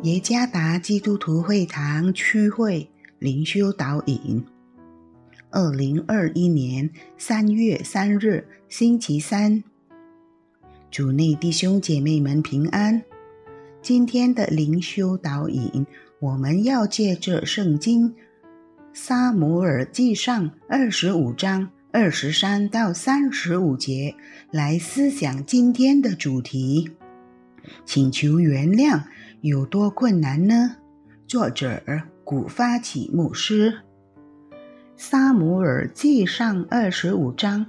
耶加达基督徒会堂区会灵修导引2021年3月3日星期三，主内弟兄姐妹们平安。今天的灵修导引，我们要借着圣经撒母耳记上25章23到35节来思想今天的主题。请求原谅有多困难呢？作者古发起牧师。撒母耳记上25章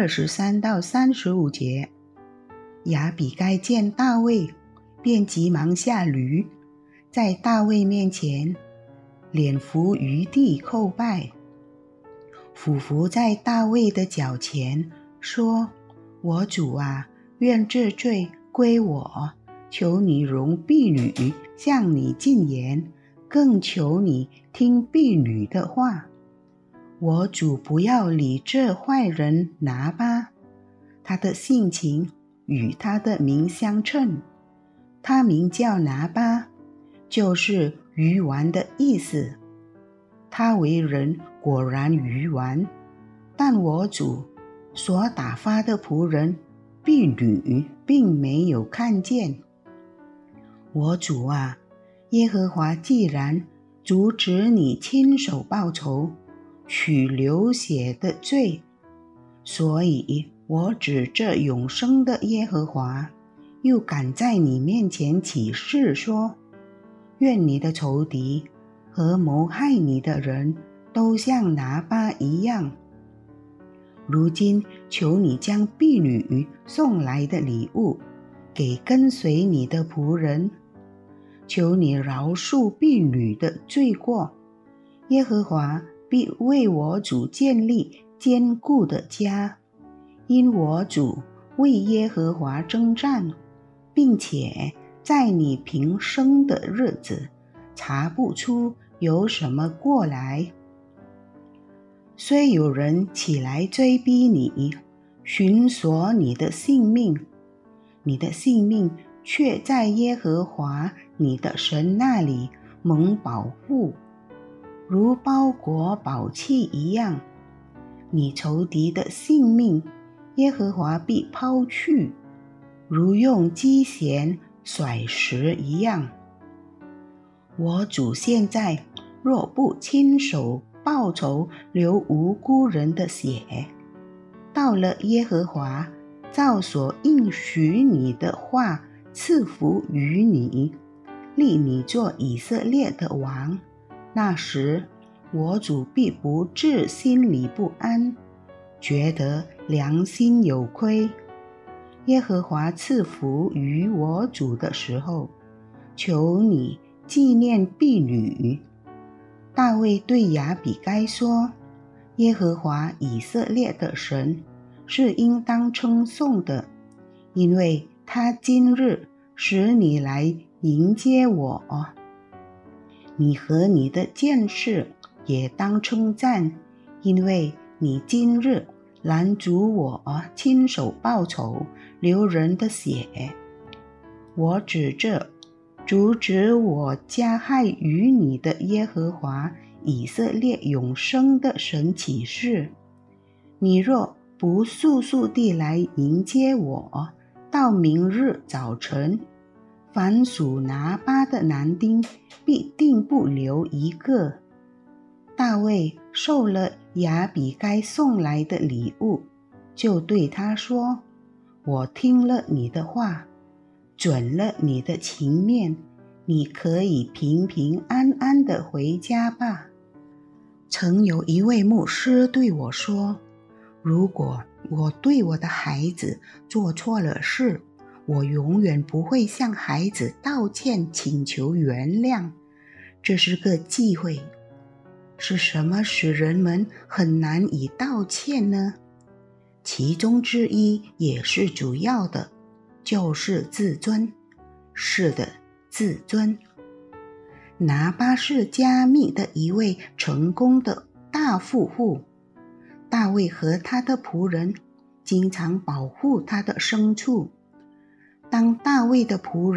23到35节，亚比该见大卫，便急忙下驴，在大卫面前脸伏于地叩拜，俯伏在大卫的脚前，说：我主啊，愿这罪归我，求你容婢女向你进言，更求你听婢女的话。我主不要理这坏人拿巴，他的性情与他的名相称。他名叫拿巴，就是愚顽的意思。他为人果然愚顽，但我主所打发的仆人婢女并没有看见。我主啊，耶和华既然阻止你亲手报仇，取流血的罪，所以我指着永生的耶和华，又敢在你面前起誓说：愿你的仇敌和谋害你的人都像拿巴一样。如今求你将婢女送来的礼物给跟随你的仆人，求你饶恕婢女的罪过，耶和华必为我主建立坚固的家，因我主为耶和华征战，并且在你平生的日子查不出有什么过来。虽有人起来追逼你，寻索你的性命，你的性命却在耶和华你的神那里蒙保护，如包裹宝器一样。你仇敌的性命，耶和华必抛去，如用机弦甩石一样。我主现在若不亲手报仇，流无辜人的血，到了耶和华照所应许你的话赐福于你，立你做以色列的王，那时我主必不至心里不安，觉得良心有亏。耶和华赐福于我主的时候，求你纪念婢女。大卫对亚比该说：耶和华以色列的神是应当称颂的，因为他今日使你来迎接我。你和你的剑士也当称赞，因为你今日拦阻我亲手报仇，流人的血。我指着阻止我加害于你的耶和华以色列永生的神起誓，你若不速速地来迎接我，到明日早晨，凡属拿巴的男丁必定不留一个。大卫受了亚比该送来的礼物，就对他说：我听了你的话，准了你的情面，你可以平平安安地回家吧。曾有一位牧师对我说，如果我对我的孩子做错了事，我永远不会向孩子道歉请求原谅，这是个忌讳。是什么使人们很难以道歉呢？其中之一，也是主要的，就是自尊。是的，自尊。拿巴是加密的一位成功的大富户，大卫和他的仆人经常保护他的牲畜。当大卫的仆人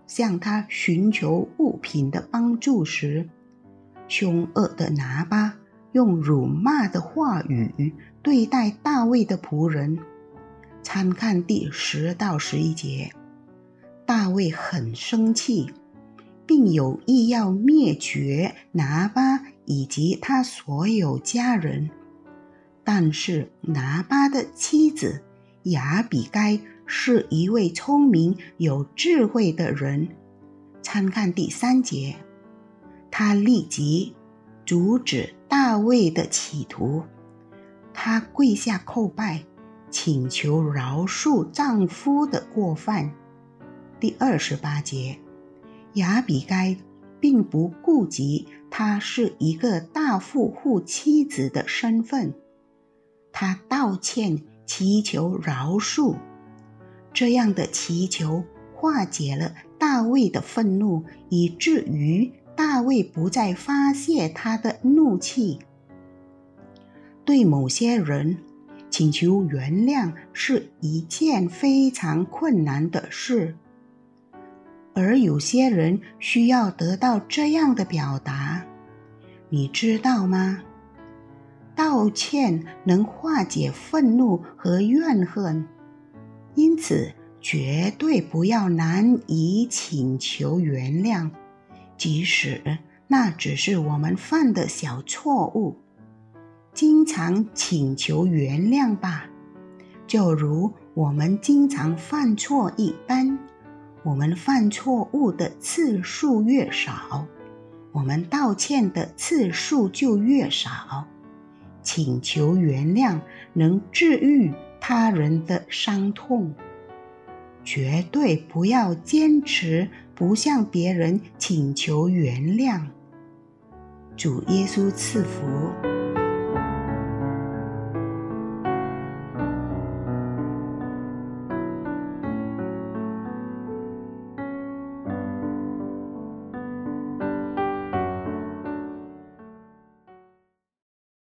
向他寻求物品的帮助时，凶恶的拿巴用辱骂的话语对待大卫的仆人。参看第10到11节。大卫很生气，并有意要灭绝拿巴以及他所有家人。但是拿巴的妻子亚比该是一位聪明有智慧的人。参看第3节。他立即阻止大卫的企图，他跪下叩拜，请求饶恕丈夫的过犯。第28节。亚比该并不顾及她是一个大富户妻子的身份，她道歉祈求饶恕。这样的祈求化解了大卫的愤怒，以至于大卫不再发泄他的怒气。对某些人，请求原谅是一件非常困难的事，而有些人需要得到这样的表达，你知道吗？道歉能化解愤怒和怨恨，因此绝对不要难以请求原谅，即使那只是我们犯的小错误。经常请求原谅吧，就如我们经常犯错一般。我们犯错误的次数越少，我们道歉的次数就越少。请求原谅能治愈他人的伤痛。绝对不要坚持不向别人请求原谅。主耶稣赐福。